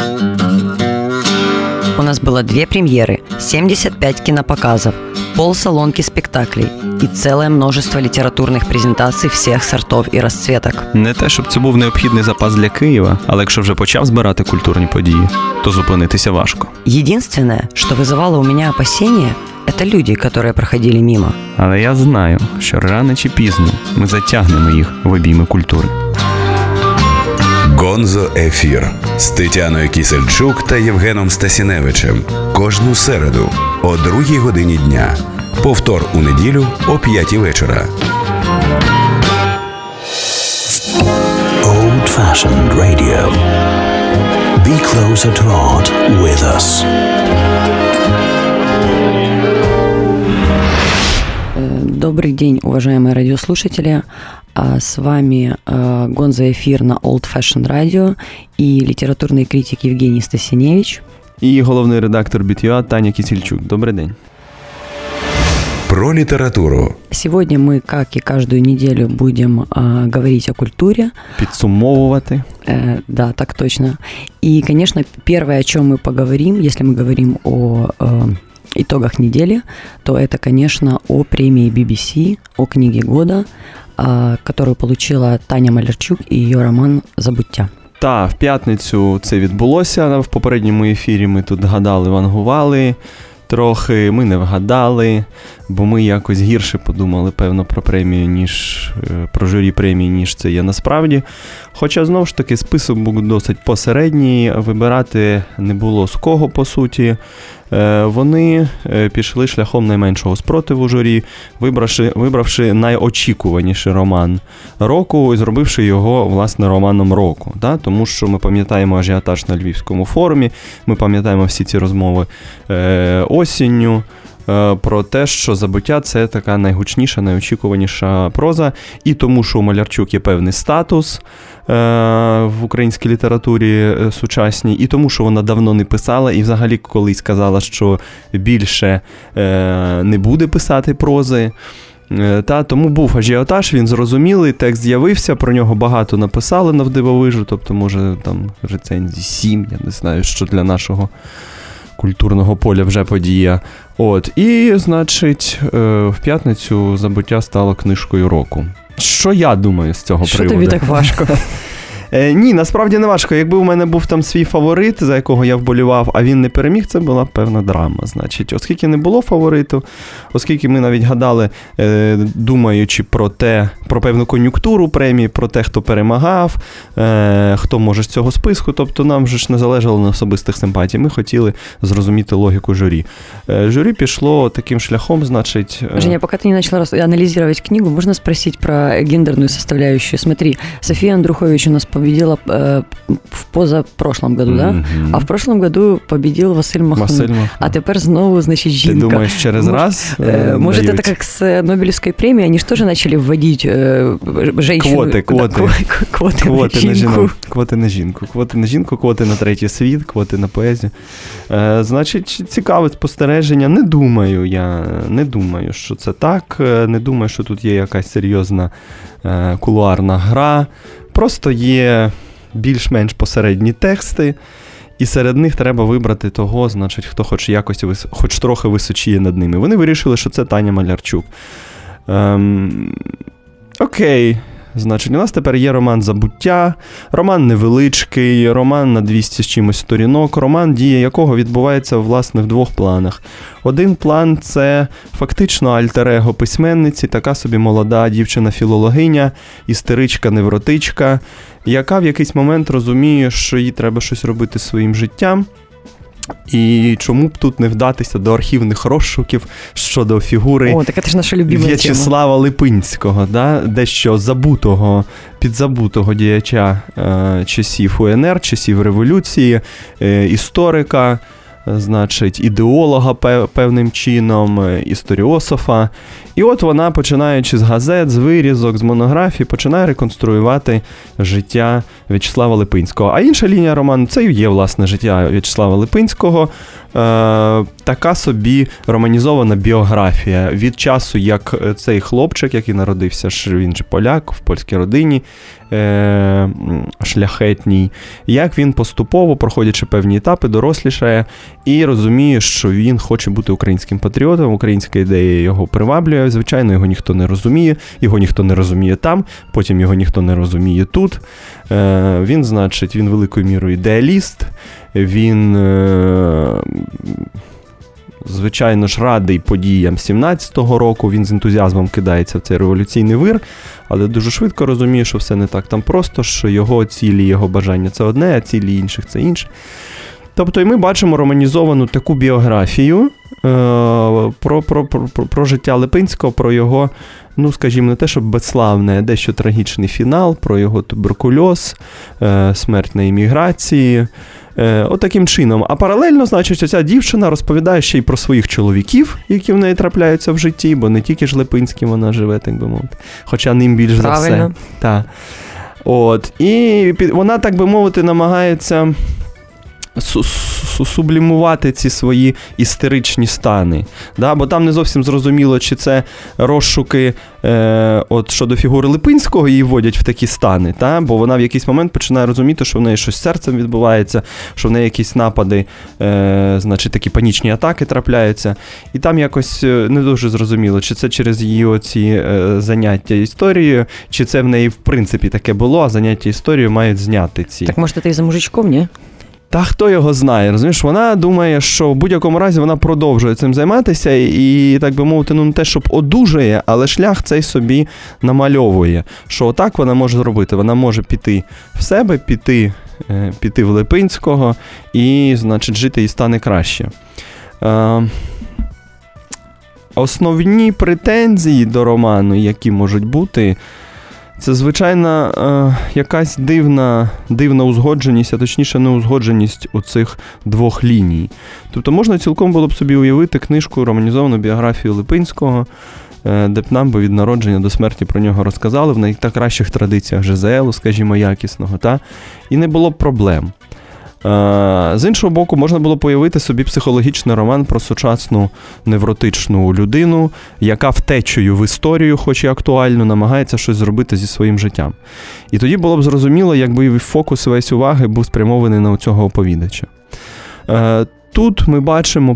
У нас было 2 премьеры, 75 кинопоказов, полсалонки спектаклей и целое множество літературних презентацій всіх сортов і розцветок. Не те, щоб це був необхідний запас для Києва, але якщо вже почав збирати культурні події, то зупинитися важко. Единственное, что вызывало у меня опасения, это люди, которые проходили мимо. Але я знаю, що рано чи пізно ми затягнемо їх в обійми культури. Гонзо Ефір з Тетяною Кісельчук та Євгеном Стасіневичем. Кожну середу о 2:00 годині дня. Повтор у неділю о 5:00 вечора. Old-fashioned radio. Be closer to art with us. Добрый день, уважаемые радиослушатели. С вами Гонзо Эфир на Old Fashioned Radio и литературный критик Евгений Стасиневич. І головний редактор BitUA Таня Кісельчук. Добрий день. Про літературу. Сегодня мы, как и каждую неделю, будем говорить о культуре. Підсумовувати. Да, так точно. И, конечно, первое, о чем мы поговорим, если мы говорим о итогах недели, то это, конечно, о премии BBC, о книге года, которую получила Таня Малярчук і її роман «Забуття». Та, в п'ятницю це відбулося. В попередньому ефірі ми тут гадали, вангували трохи, ми не вгадали, бо ми якось гірше подумали, певно, про премію, ніж про журі премії, ніж це є насправді. Хоча, знову ж таки, список був досить посередній, вибирати не було з кого, по суті. Вони пішли шляхом найменшого спротиву журі, вибравши найочікуваніший роман року і зробивши його, власне, романом року. Да? Тому що ми пам'ятаємо ажіотаж на Львівському форумі, ми пам'ятаємо всі ці розмови осінню, про те, що «Забуття» – це така найгучніша, найочікуваніша проза, і тому, що у Малярчук є певний статус в українській літературі сучасній, і тому, що вона давно не писала, і взагалі колись сказала, що більше не буде писати прози. Тому був ажіотаж, він зрозумілий, текст з'явився, про нього багато написали навдивовижу, тобто, може, там рецензій 7, я не знаю, що для нашого культурного поля вже подія. І, значить, в п'ятницю «Забуття» стало книжкою року. Що я думаю з цього приводу? Що тобі так важко? Ні, насправді не важко. Якби у мене був там свій фаворит, за якого я вболівав, а він не переміг, це була певна драма. Значить, оскільки не було фавориту, оскільки ми навіть гадали, думаючи про певну кон'юнктуру премії, про те, хто перемагав, хто може з цього списку, тобто нам же ж не залежало на особистих симпатій. Ми хотіли зрозуміти логіку журі. Журі пішло таким шляхом, значить... Женя, пока ты не начала анализировать книгу, можно спросить про гендерную составляющую? Смотри, София Андрухович у нас победила в позапрошлом году, да? А в прошлом году победил Василь Махнут. А тепер знову, значит, жінка. Ти думаєш, через раз может, это как с Нобелевской премией, они же тоже начали вводить женщину... Квоти на жінку. Квоти на жінку. Квоти на жінку, квоти на третій світ, квоти на поезію. Значить, цікаве спостереження. Не думаю, що це так. Не думаю, що тут є якась серйозна кулуарна гра. Просто є більш-менш посередні тексти, і серед них треба вибрати того, значить, хто хоч трохи височіє над ними. Вони вирішили, що це Таня Малярчук. Окей. Значить, у нас тепер є роман «Забуття», роман невеличкий, роман на 200 з чимось сторінок, роман, дія якого відбувається, власне, в двох планах. Один план – це фактично альтер-его письменниці, така собі молода дівчина-філологиня, істеричка-невротичка, яка в якийсь момент розуміє, що їй треба щось робити зі своїм життям. І чому б тут не вдатися до архівних розшуків щодо фігури В'ячеслава Липинського, да? Дещо підзабутого діяча часів УНР, часів революції, історика, значить, ідеолога певним чином, історіософа. І от вона, починаючи з газет, з вирізок, з монографій, починає реконструювати життя В'ячеслава Липинського. А інша лінія роману – це і є, власне, життя В'ячеслава Липинського. така собі романізована біографія від часу, як цей хлопчик, який народився, він же поляк, в польській родині, шляхетній, як він поступово, проходячи певні етапи, дорослішає і розуміє, що він хоче бути українським патріотом, українська ідея його приваблює, звичайно, його ніхто не розуміє, його ніхто не розуміє там, потім його ніхто не розуміє тут. Він, значить, він великою мірою ідеаліст, він, звичайно ж, радий подіям 17-го року, він з ентузіазмом кидається в цей революційний вир, але дуже швидко розуміє, що все не так там просто, що його цілі, його бажання – це одне, а цілі інших – це інше. Тобто і ми бачимо романізовану таку біографію про життя Липинського, про його, ну, скажімо, не те, щоб безславний, а дещо трагічний фінал, про його туберкульоз, смерть на еміграції. Отаким чином. А паралельно, значить, оця дівчина розповідає ще й про своїх чоловіків, які в неї трапляються в житті, бо не тільки ж Липинським вона живе, так би мовити. Хоча ним більш за все. Так. От. І вона, так би мовити, намагається сублімувати ці свої істеричні стани. Да? Бо там не зовсім зрозуміло, чи це розшуки от щодо фігури Липинського її вводять в такі стани, та? Бо вона в якийсь момент починає розуміти, що в неї щось з серцем відбувається, що в неї якісь напади, значить, такі панічні атаки трапляються. І там якось не дуже зрозуміло, чи це через її оці заняття історією, чи це в неї в принципі таке було, а заняття історією мають зняти ці. Так може, це і за мужичком, ні? Та хто його знає, розумієш, вона думає, що в будь-якому разі вона продовжує цим займатися і, так би мовити, ну не те, щоб одужує, але шлях цей собі намальовує, що отак вона може зробити. Вона може піти в себе, піти в Липинського і, значить, жити їй стане краще. Основні претензії до роману, які можуть бути, це, звичайно, якась дивна узгодженість, а точніше неузгодженість оцих двох ліній. Тобто можна цілком було б собі уявити книжку, романізовану біографію Липинського, де б нам би від народження до смерті про нього розказали в найкращих традиціях ЖЗЛу, скажімо, якісного, та? І не було б проблем. З іншого боку, можна було появити собі психологічний роман про сучасну невротичну людину, яка втечею в історію, хоч і актуальну, намагається щось зробити зі своїм життям. І тоді було б зрозуміло, якби фокус весь уваги був спрямований на цього оповідача. Тут ми бачимо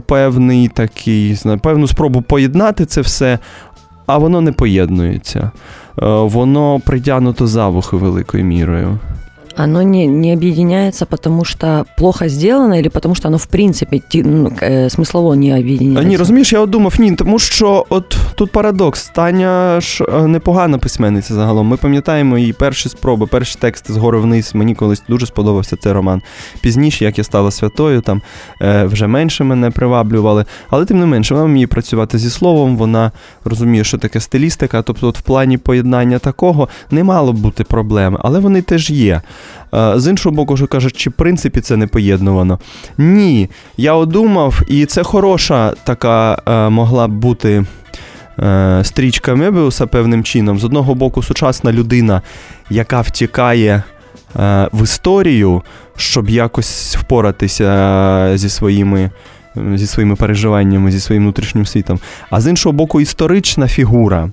певну спробу поєднати це все, а воно не поєднується. Воно притягнуто за вухи великою мірою. Оно не объединяется, потому что плохо сделано, или потому что оно, в принципе, смыслово не объединяется? Ні, розумієш, я думав, тому що от тут парадокс. Таня ж непогана письменниця загалом. Ми пам'ятаємо її перші спроби, перші тексти згори вниз. Мені колись дуже сподобався цей роман. Пізніше, як я стала святою, там вже менше мене приваблювали. Але тим не менше, вона вміє працювати зі словом, вона розуміє, що таке стилістика. Тобто от в плані поєднання такого не мало б бути проблем, але вони теж є. З іншого боку, що кажуть, чи в принципі це не поєднувано? Ні, я одумав, і це хороша така могла б бути стрічка Мебіуса певним чином. З одного боку, сучасна людина, яка втікає в історію, щоб якось впоратися зі своїми переживаннями, зі своїм внутрішнім світом. А з іншого боку, історична фігура,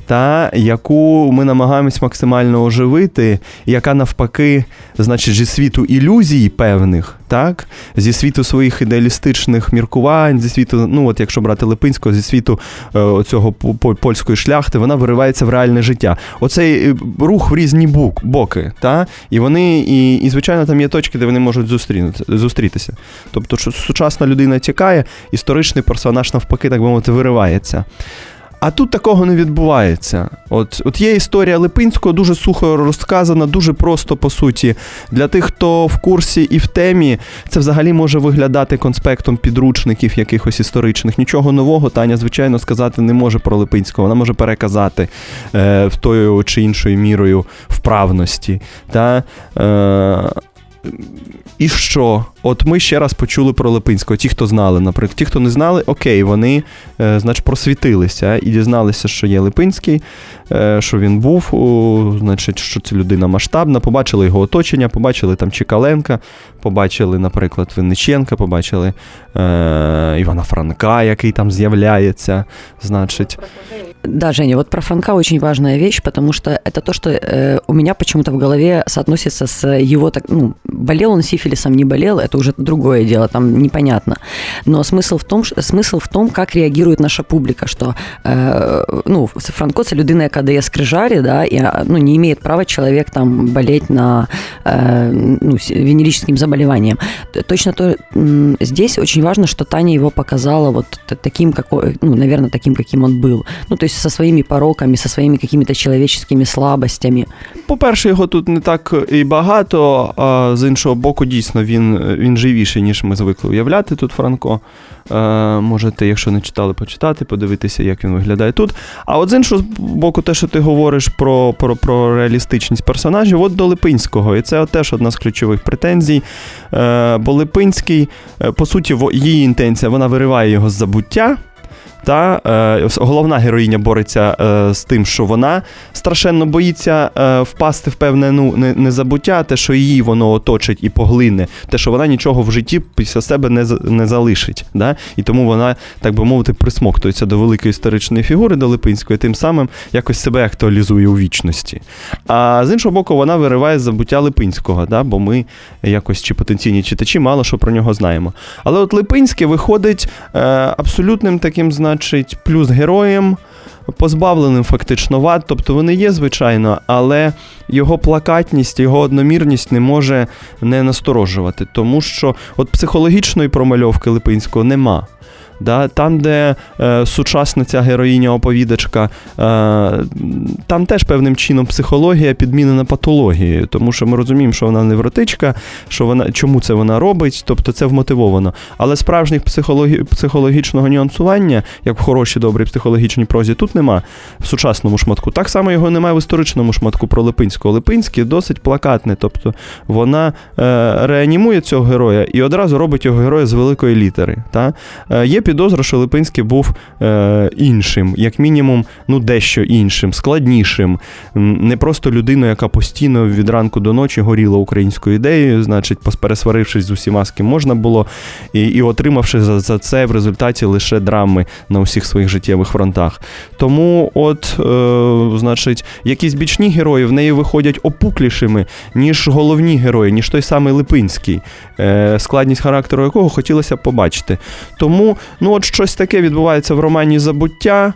яку ми намагаємось максимально оживити, яка навпаки, значить, зі світу ілюзій певних, так? Зі світу своїх ідеалістичних міркувань, зі світу, ну от якщо брати Липинського, зі світу цього польської шляхти, вона виривається в реальне життя. Оцей рух в різні боки, та? І вони, і звичайно, там є точки, де вони можуть зустрітися. Тобто, що сучасна людина тікає, історичний персонаж навпаки, так би мовити, виривається. А тут такого не відбувається. От є історія Липинського, дуже сухо розказана, дуже просто, по суті. Для тих, хто в курсі і в темі, це взагалі може виглядати конспектом підручників якихось історичних. Нічого нового Таня, звичайно, сказати не може про Липинського. Вона може переказати в тою чи іншою мірою вправності. І що? от ми ще раз почули про Липинського. Ті, хто знали, наприклад. Ті, хто не знали, окей, вони, значить, просвітилися і дізналися, що є Липинський, що він був, значить, що це людина масштабна, побачили його оточення, побачили там Чекаленка, побачили, наприклад, Винниченка, побачили Івана Франка, який там з'являється, значить. Да, Женя, вот про Франка очень важная вещь, потому что это то, что у меня почему-то в голове соотносится с его, болел он сифилисом, не болел, это уже другое дело, там непонятно. Но смысл в том, как реагирует наша публика, что, Франко – це людина, яка дає скрижарі, да, и, не имеет права человек там болеть на, венерическим заболеванием. Точно то, здесь очень важно, что Таня его показала вот таким, наверное, таким, каким он был. То есть со своими пороками, со своими какими-то человеческими слабостями. По-перше, його тут не так і багато, а з іншого боку, дійсно, він живіший, ніж ми звикли уявляти тут Франко. Можете, якщо не читали, почитати, подивитися, як він виглядає тут. А от з іншого боку, те, що ти говориш про реалістичність персонажів, от до Липинського. І це теж одна з ключових претензій. Бо Липинський, по суті, її інтенція, вона вириває його з забуття. Головна героїня бореться з тим, що вона страшенно боїться впасти в певне незабуття, те, що її воно оточить і поглине, те, що вона нічого в житті після себе не залишить. Да? І тому вона, так би мовити, присмоктується до великої історичної фігури, до Липинської, тим самим якось себе актуалізує у вічності. А з іншого боку, вона вириває з забуття Липинського, да? Бо ми якось, чи потенційні читачі, мало що про нього знаємо. Але от Липинський виходить абсолютним таким, значить, плюс героєм, позбавленим фактично вад, тобто вони є, звичайно, але його плакатність, його одномірність не може не насторожувати, тому що от психологічної промальовки Липинського нема. Да, там, де сучасна ця героїня-оповідачка, там теж певним чином психологія підмінена патологією, тому що ми розуміємо, що вона невротичка, чому це вона робить, тобто це вмотивовано. Але справжніх психологічного нюансування, як в хорошій, добрій психологічній прозі, тут нема в сучасному шматку. Так само його немає в історичному шматку про Липинського. Липинський досить плакатний, тобто вона реанімує цього героя і одразу робить його героя з великої літери. Та? Є підозра, що Липинський був іншим, як мінімум, дещо іншим, складнішим, не просто людиною, яка постійно від ранку до ночі горіла українською ідеєю, значить, пересварившись з усіма, з ким можна було, і отримавши за це в результаті лише драми на усіх своїх життєвих фронтах. Тому значить, якісь бічні герої в неї виходять опуклішими, ніж головні герої, ніж той самий Липинський, складність характеру якого хотілося б побачити. Тому от щось таке відбувається в романі «Забуття».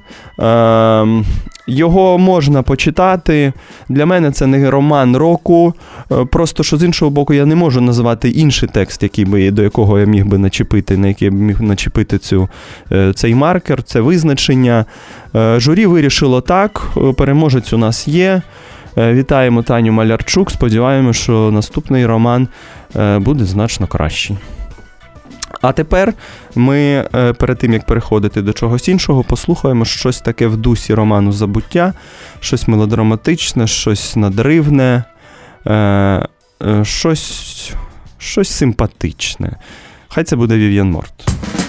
Його можна почитати. Для мене це не роман року. Просто, що з іншого боку, я не можу назвати інший текст, до якого я міг би начепити, на який я міг начепити цей маркер, це визначення. Журі вирішило так. Переможець у нас є. Вітаємо Таню Малярчук. Сподіваємося, що наступний роман буде значно кращий. А тепер ми, перед тим, як переходити до чогось іншого, послухаємо щось таке в дусі роману «Забуття», щось мелодраматичне, щось надривне, щось симпатичне. Хай це буде Вів'ян Морт.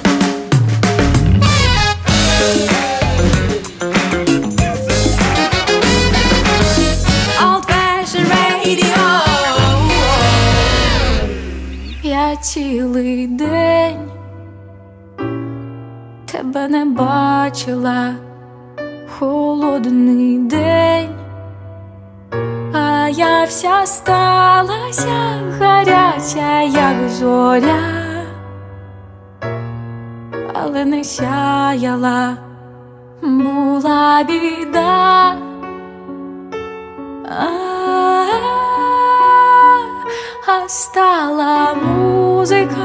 Я цілий день тебе не бачила, холодний день, а я вся сталася гаряча, як зоря, але не сяяла, була біда. А стала музика,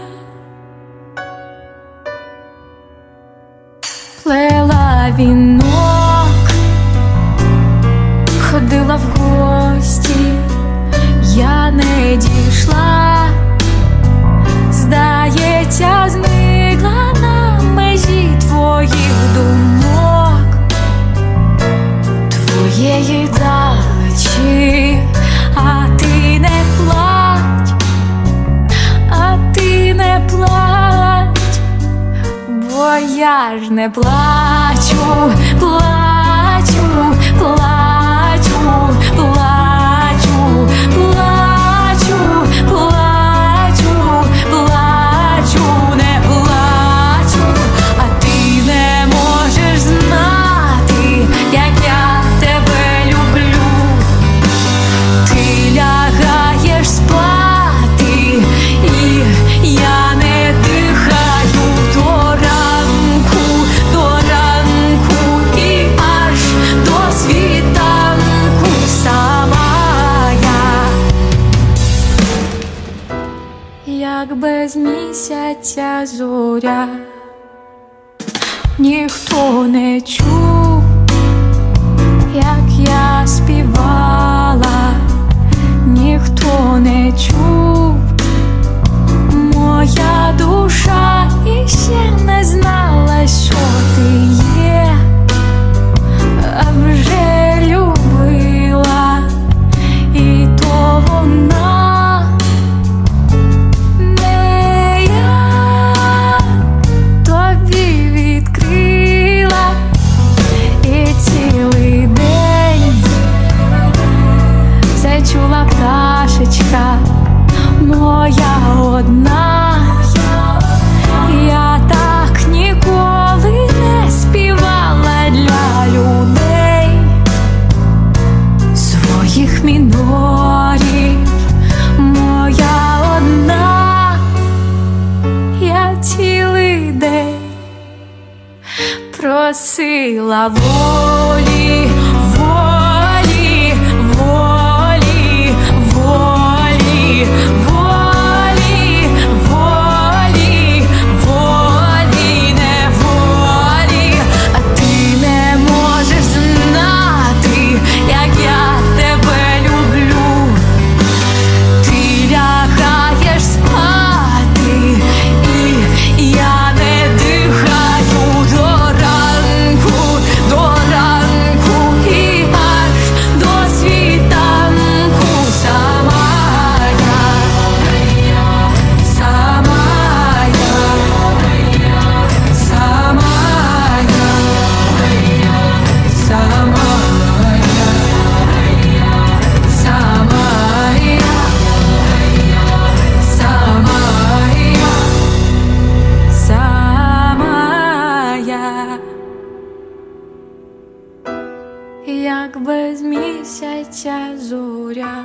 плела вінок, ходила в гості, я не дійшла, здається, зникла на межі твоїх думок, твоєї далечі. А ти не плач, а я ж не плачу, плачу, плачу, плачу, плачу, плачу, плачу, не плачу, а ти не можеш знати, як я тебе люблю. Ти лягаєш спати, і я не дихаю до ранку, і аж до світанку сама я, як без місяця зоря, ніхто не чув, як я співала, ніхто не чув, моя душа іще не знала, що ти є, а вже любила, і то вона, не я, тобі відкрила, і цілий день зачула пташечка моя одна. Я так ніколи не співала для людей своїх мінорів, моя одна. Я цілий день просила волі, волі, волі, волі, волі, волі, волі, неволі, а ти не можеш знати, як я тебе люблю. Ти лягаєш спати, і я не дихаю до ранку, і аж до світанку сама я, сама я, сама я, сама я, сама я, як без місяця зоря.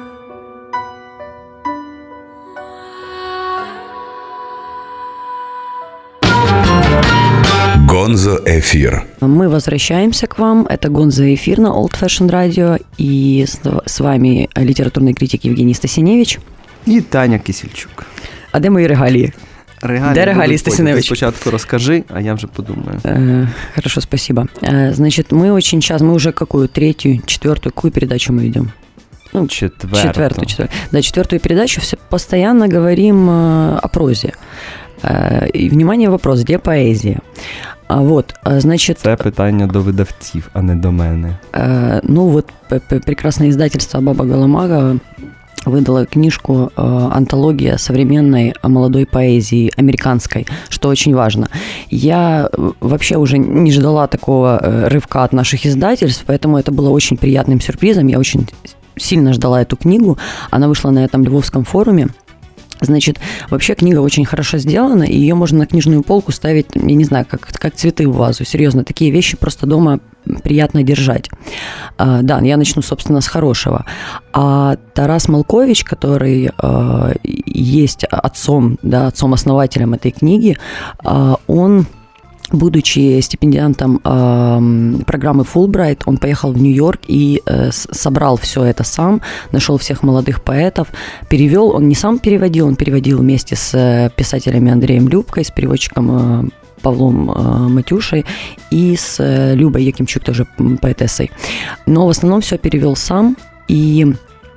Гонзо Эфир. Мы возвращаемся к вам. Это Гонзо Эфир на Old Fashion Radio. И с вами литературный критик Евгений Стасиневич. І Таня Кисельчук. А де мої регалії? Де регалії, Стасиневич? Спочатку розкажи, а я вже подумаю. Хорошо, спасибо. Значит, мы очень часто, мы уже какую, третью, четвертую, какую передачу мы идем? Ну, четвертую. Да, четвертую передачу все постоянно говорим о прозе. И, внимание, вопрос, где поэзия? Вот, значит... Це питання до видавців, а не до мене. Ну, вот прекрасное издательство Баба Галамага выдала книжку «Антология современной молодой поэзии американской», что очень важно. Я вообще уже не ждала такого рывка от наших издательств, поэтому это было очень приятным сюрпризом. Я очень сильно ждала эту книгу. Она вышла на этом Львовском форуме. Значит, вообще книга очень хорошо сделана, и ее можно на книжную полку ставить, я не знаю, как цветы в вазу. Серьезно, такие вещи просто дома приятно держать. Да, я начну, собственно, с хорошего. А Тарас Малкович, который есть отцом-основателем этой книги, он... Будучи стипендиантом программы Fulbright, он поехал в Нью-Йорк и собрал все это сам, нашел всех молодых поэтов, перевел, он не сам переводил, он переводил вместе с писателями Андреем Любкой, с переводчиком Павлом Матюшей и с Любой Якимчук, тоже поэтессой. Но в основном все перевел сам, и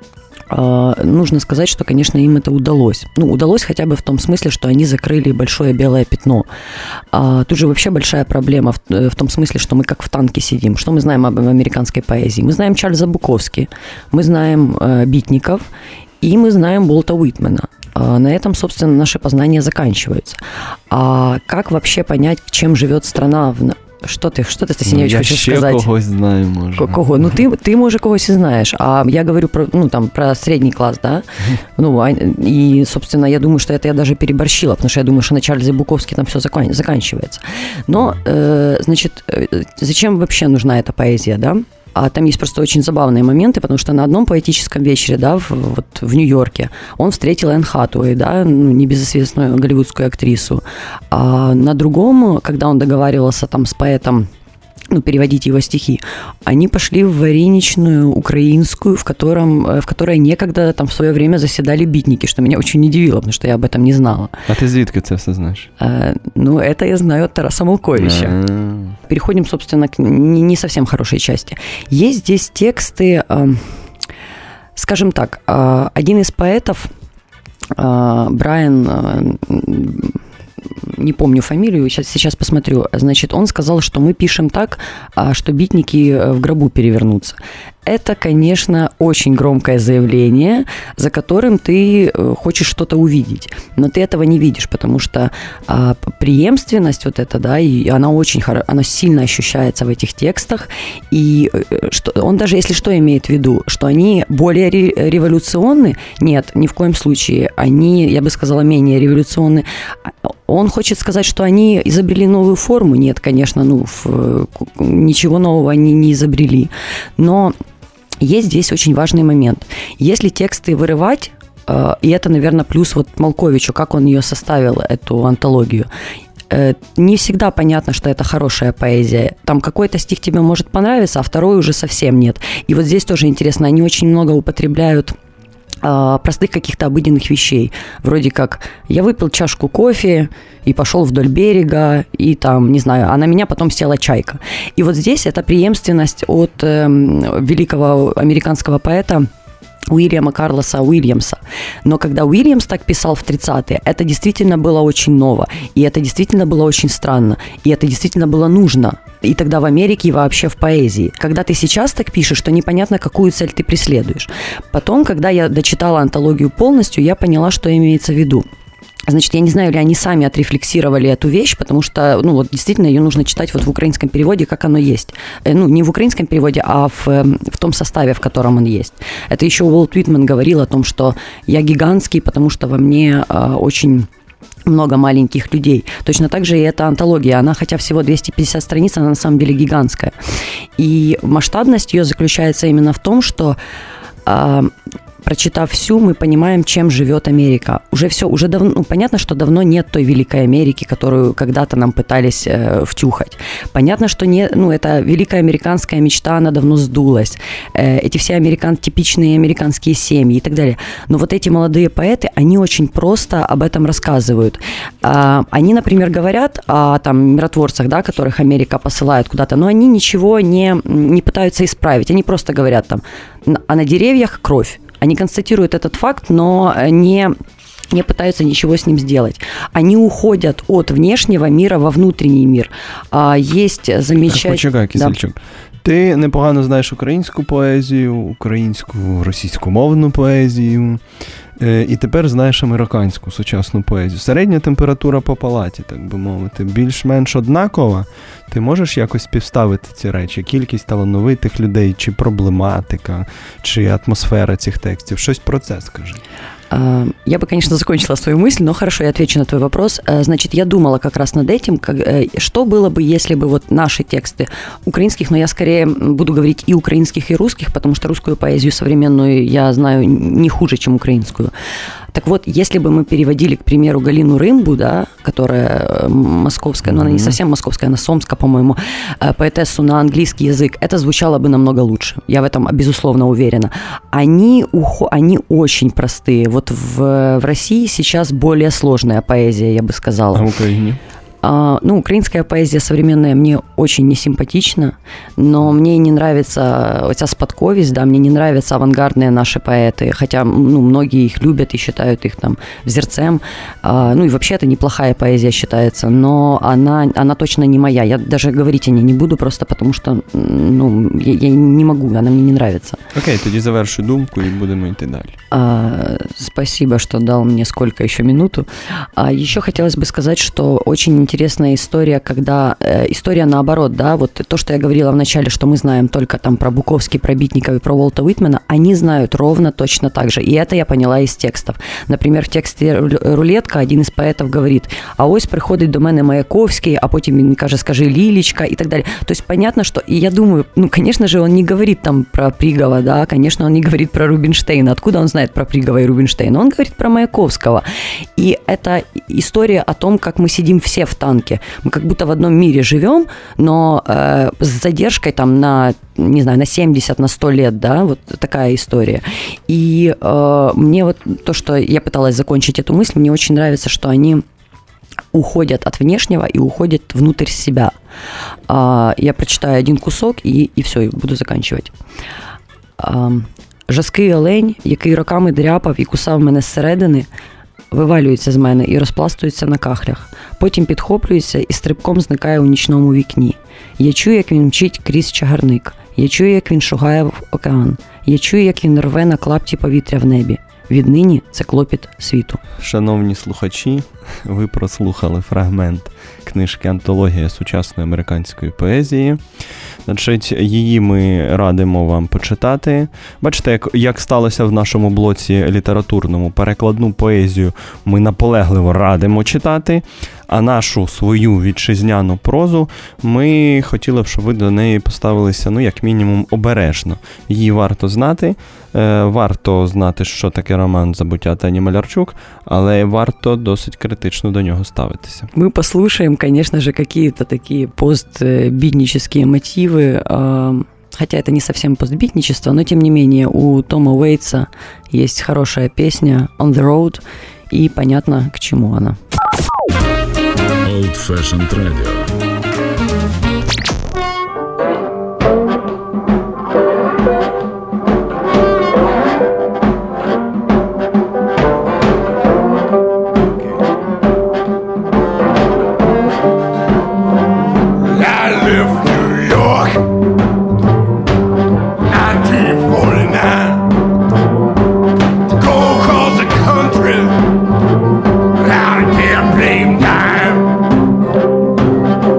нужно сказать, что, конечно, им это удалось. Ну, удалось хотя бы в том смысле, что они закрыли большое белое пятно. Тут же вообще большая проблема в том смысле, что мы как в танке сидим. Что мы знаем об американской поэзии? Мы знаем Чарльза Буковски, мы знаем Битников, и мы знаем Уолта Уитмена. На этом, собственно, наши познания заканчиваются. А как вообще понять, чем живет страна? Что ты, Стасіневич, хочеш сказати? Я ще когось знаю, може. Кого? Ну, ти, може, когось і знаєш. А я говорю про средний класс, да? И, собственно, я думаю, что это я даже переборщила, потому что я думаю, что на Чарльзе Буковске там все заканчивается. Но, значит, зачем вообще нужна эта поэзия, да? А там есть просто очень забавные моменты, потому что на одном поэтическом вечере, да, в Нью-Йорке, он встретил Энн Хатуэй, да, небезызвестную голливудскую актрису. А на другом, когда он договаривался там с поэтом, переводить его стихи, они пошли в вареничную украинскую, в которой некогда там в свое время заседали битники, что меня очень удивило, потому что я об этом не знала. А ты звідки це все знаешь? Это я знаю от Тараса Малковича. Переходим, собственно, к не совсем хорошей части. Есть здесь тексты, скажем так, один из поэтов, Брайан, не помню фамилию, сейчас посмотрю, значит, он сказал, что мы пишем так, что битники в гробу перевернутся. Это, конечно, очень громкое заявление, за которым ты хочешь что-то увидеть, но ты этого не видишь, потому что преемственность вот эта, да, и она сильно ощущается в этих текстах, и он даже, если что, имеет в виду, что они более революционны, нет, ни в коем случае, они, я бы сказала, менее революционны. Он хочет сказать, что они изобрели новую форму, нет, конечно, ничего нового они не изобрели, но есть здесь очень важный момент. Если тексты вырывать, и это, наверное, плюс вот Малковичу, как он ее составил, эту антологию, не всегда понятно, что это хорошая поэзия. Там какой-то стих тебе может понравиться, а второй уже совсем нет. И вот здесь тоже интересно, они очень много употребляют простых каких-то обыденных вещей. Вроде как я выпил чашку кофе и пошел вдоль берега, и там, не знаю, а на меня потом села чайка. И вот здесь это преемственность от великого американского поэта Уильяма Карлоса Уильямса. Но когда Уильямс так писал в 30-е, это действительно было очень ново, и это действительно было очень странно, и это действительно было нужно. И тогда в Америке, и вообще в поэзии. Когда ты сейчас так пишешь, то непонятно, какую цель ты преследуешь. Потом, когда я дочитала антологию полностью, я поняла, что имеется в виду. Значит, я не знаю, ли они сами отрефлексировали эту вещь, потому что, действительно, ее нужно читать вот в украинском переводе, как оно есть. Не в украинском переводе, а в том составе, в котором он есть. Это еще Уолт Уитман говорил о том, что я гигантский, потому что во мне очень много маленьких людей. Точно так же и эта антология. Она, хотя всего 250 страниц, она на самом деле гигантская. И масштабность ее заключается именно в том, что прочитав всю, мы понимаем, чем живет Америка. Уже давно, понятно, что давно нет той великой Америки, которую когда-то нам пытались втюхать. Понятно, что эта великая американская мечта, она давно сдулась. Эти все типичные американские семьи и так далее. Но вот эти молодые поэты, они очень просто об этом рассказывают. Они, например, говорят о миротворцах, да, которых Америка посылает куда-то, но они ничего не пытаются исправить. Они просто говорят а на деревьях кровь. Они констатируют этот факт, но не пытаются ничего с ним сделать. Они уходят от внешнего мира во внутренний мир. Есть замечательно... Почекай, Кисельчук. Да. Ти непогано знаєш українську поезію, українську, російськомовну поезію, і тепер знаєш американську сучасну поезію. Середня температура по палаті, так би мовити, більш-менш однакова. Ти можеш якось співставити ці речі? Кількість талановитих людей, чи проблематика, чи атмосфера цих текстів? Щось про це скажи. Я бы, конечно, закончила свою мысль, но хорошо, я отвечу на твой вопрос. Значит, я думала как раз над этим, что было бы, если бы вот наши тексты украинских, но я скорее буду говорить и украинских, и русских, потому что русскую поэзию современную я знаю не хуже, чем украинскую. Так вот, если бы мы переводили, к примеру, Галину Рымбу, да, которая московская, но она не совсем московская, она сомская, по-моему, поэтессу на английский язык, это звучало бы намного лучше. Я в этом, безусловно, уверена. Они очень простые. Вот в России сейчас более сложная поэзия, я бы сказала. А в Украине? Украинская поэзия современная мне очень несимпатична, но мне не нравится эта спадковість, да, мне не нравятся авангардные наши поэты, хотя многие их любят и считают их там взерцем. И вообще это неплохая поэзия считается, но она точно не моя. Я даже говорить о ней не буду, просто потому что я не могу, она мне не нравится. Окей, тоді завершу думку и будем идти дальше. Спасибо, что дал мне сколько еще минуту. Еще хотелось бы сказать, что очень интересная история, когда история наоборот, да, вот то, что я говорила в начале, что мы знаем только там про Буковский, про Битникова и про Уолта Уитмена, они знают ровно точно так же. И это я поняла из текстов. Например, в тексте «Рулетка» один из поэтов говорит: «А ось приходить до мене Маяковский, а потім він каже, скажи Лилечка» и так далее. То есть понятно, что... И я думаю, конечно же, он не говорит там про Пригова, да, конечно, он не говорит про Рубинштейна. Откуда он знает про Пригова и Рубинштейна? Он говорит про Маяковского. И это история о том, как мы сидим все в танке. Мы как будто в одном мире живем, но с задержкой там на, не знаю, на 70, на 100 лет, да, вот такая история. И мне вот то, что я пыталась закончить эту мысль, мне очень нравится, что они уходят от внешнего и уходят внутрь себя. Я прочитаю один кусок и все, и буду заканчивать. Жаский олень, який роками дряпав і кусав мене зсередини, вивалюється з мене і розпластується на кахлях. Потім підхоплюється і стрибком зникає у нічному вікні. Я чую, як він мчить крізь чагарник. Я чую, як він шугає в океан. Я чую, як він рве на клапті повітря в небі. Віднині це клопіт світу. Шановні слухачі, ви прослухали фрагмент книжки «Антологія сучасної американської поезії». Значить, її ми радимо вам почитати. Бачите, як сталося в нашому блоці літературному, перекладну поезію ми наполегливо радимо читати, а нашу свою вітчизняну прозу ми хотіли б, щоб ви до неї поставилися, як мінімум, обережно. Її варто знати, що таке роман «Забуття» Тані Малярчук, але варто досить критично до нього ставитися. Мы послушаем, конечно же, какие-то такие постбитнические мотивы, хотя это не совсем постбитничество, но тем не менее у Тома Уэйтса есть хорошая песня «On the Road», и понятно, к чему она. Old Fashioned Radio. Blame time.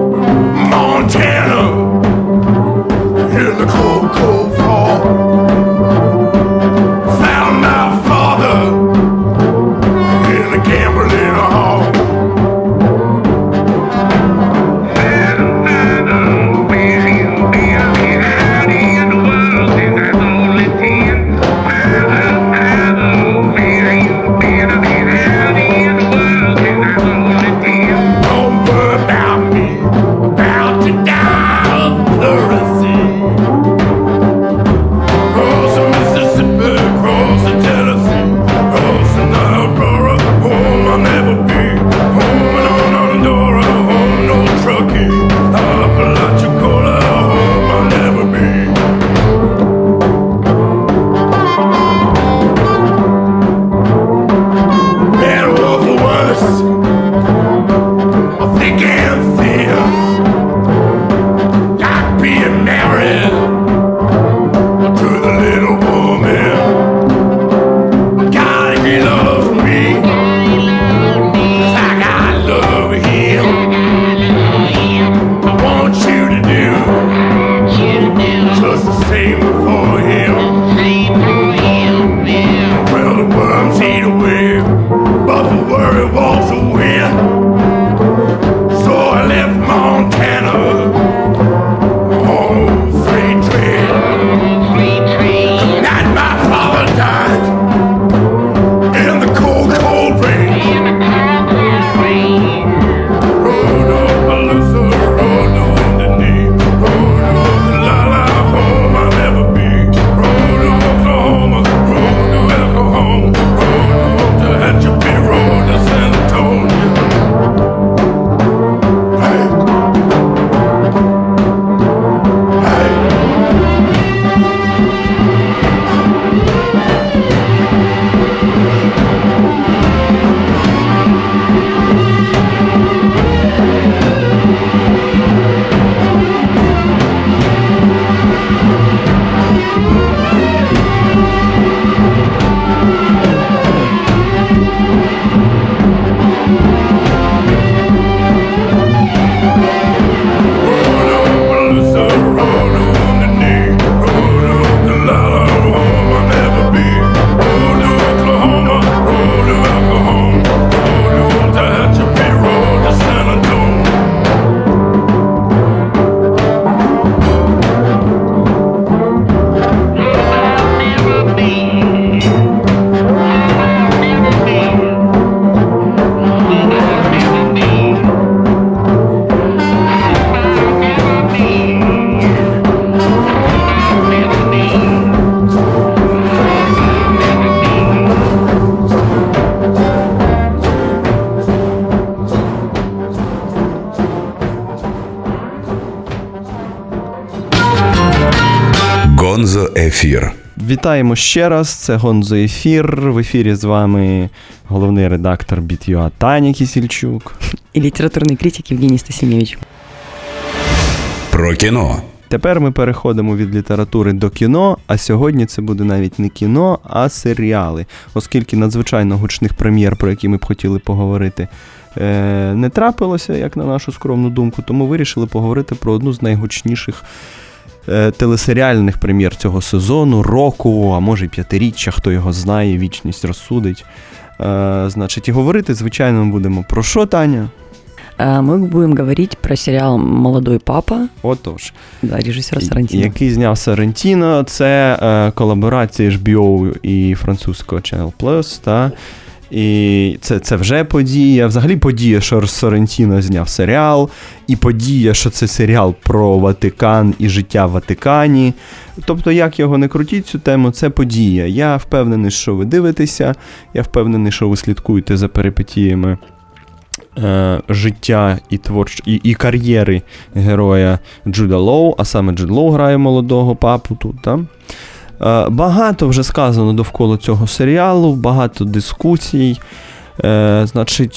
Гонзо Ефір. Вітаємо ще раз, це Гонзо Ефір. В ефірі з вами головний редактор Біт.ua Таня Кісільчук. І літературний критик Євгеній Стасіневич. Про кіно. Тепер ми переходимо від літератури до кіно, а сьогодні це буде навіть не кіно, а серіали. Оскільки надзвичайно гучних прем'єр, про які ми б хотіли поговорити, не трапилося, як на нашу скромну думку, тому вирішили поговорити про одну з найгучніших телесеріальних прем'єр цього сезону, року, а може й 5-річчя, хто його знає, вічність розсудить. Значить, і говорити, звичайно, ми будемо про що, Таня? Мы будем говорить про сериал «Молодой папа». Отож. Да, режисера Соррентіно. Який зняв Соррентіно. Це колаборація HBO і французького Channel Plus, та? І це вже подія. Взагалі подія, що Соррентіно зняв серіал, і подія, що це серіал про Ватикан і життя в Ватикані. Тобто, як його не крутіть цю тему, це подія. Я впевнений, що ви дивитеся, я впевнений, що ви слідкуєте за перипетіями життя і кар'єри героя Джуда Лоу, а саме Джуд Лоу грає молодого папу тут, так? Багато вже сказано довкола цього серіалу, багато дискусій. Значить,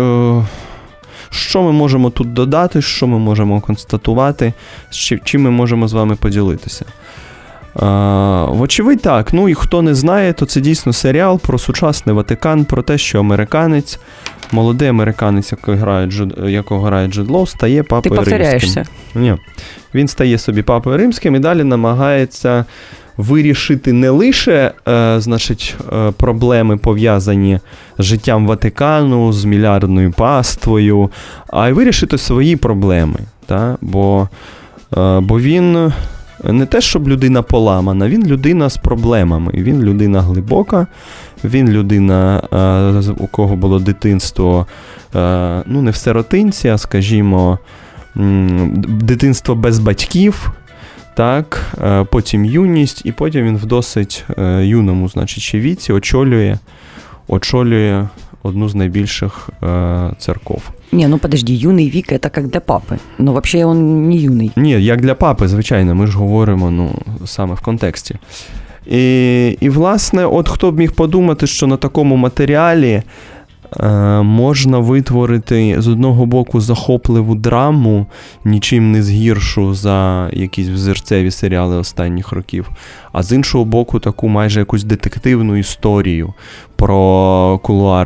що ми можемо тут додати, що ми можемо констатувати, чим ми можемо з вами поділитися? Вочевидь так, і хто не знає, то це дійсно серіал про Ватикан, про те, що американець, молодий американець, якого грає Джуд Лоу, стає папою римським. Ти повторяєшся. Ні. Він стає собі папою римським і далі намагається вирішити не лише проблеми, пов'язані з життям Ватикану, з мільярдною паствою, а й вирішити свої проблеми. Та? Бо він не те, щоб людина поламана, він людина з проблемами, він людина глибока, він людина, у кого було дитинство, не в сиротинці, а, скажімо, дитинство без батьків, так, потім юність, і потім він в досить юному, ще віці очолює одну з найбільших церков. Подожди, юний вік – це як для папи. Взагалі він не юний. Ні, як для папи, звичайно, ми ж говоримо, саме в контексті. І, власне, от хто б міг подумати, що на такому матеріалі можна витворити, з одного боку, захопливу драму, нічим не згіршу за якісь взірцеві серіали останніх років, а з іншого боку, таку майже якусь детективну історію про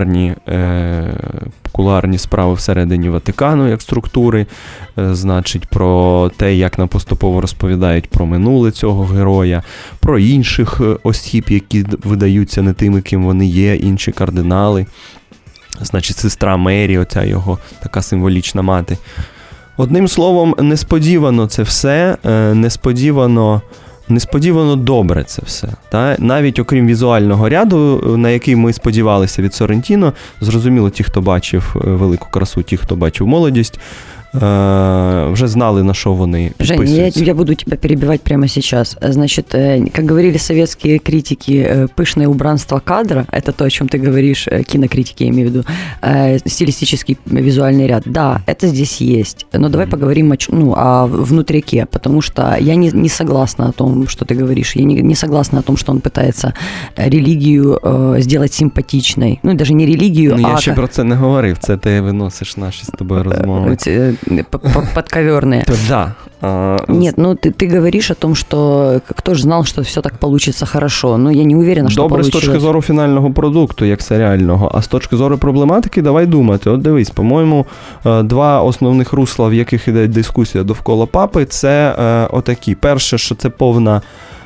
кулуарні справи всередині Ватикану, як структури, про те, як нам поступово розповідають про минуле цього героя, про інших осіб, які видаються не тими, ким вони є, інші кардинали. Сестра Мері, оця його така символічна мати. Одним словом, несподівано це все, несподівано добре це все. Та? Навіть окрім візуального ряду, на який ми сподівалися від Соррентіно, зрозуміло, ті, хто бачив «Велику красу», ті, хто бачив «Молодість», вже знали, на що вони підписуються. Жень, я буду тебя перебивать прямо сейчас. Значит, как говорили советские критики, пышное убранство кадра, это то, о чем ты говоришь, кинокритики, я имею в виду, стилистический визуальный ряд. Да, это здесь есть. Но давай поговорим о внутряке, потому что я не согласна о том, что ты говоришь. Я не согласна о том, что он пытается религию сделать симпатичной. Даже не религию, я ще про це не говорив. Це ти виносиш наші з тобою розмови. Подковерные. Да. Нет, ты говоришь о том, что кто же знал, что все так получится хорошо. Я не уверена, що добре получилось. З точки зору фінального продукту, як серіального, а з точки зору проблематики, давай думати. От дивись, по-моєму, два основних русла, в яких іде дискусія довкола папи, це отакі. Перше, що це повна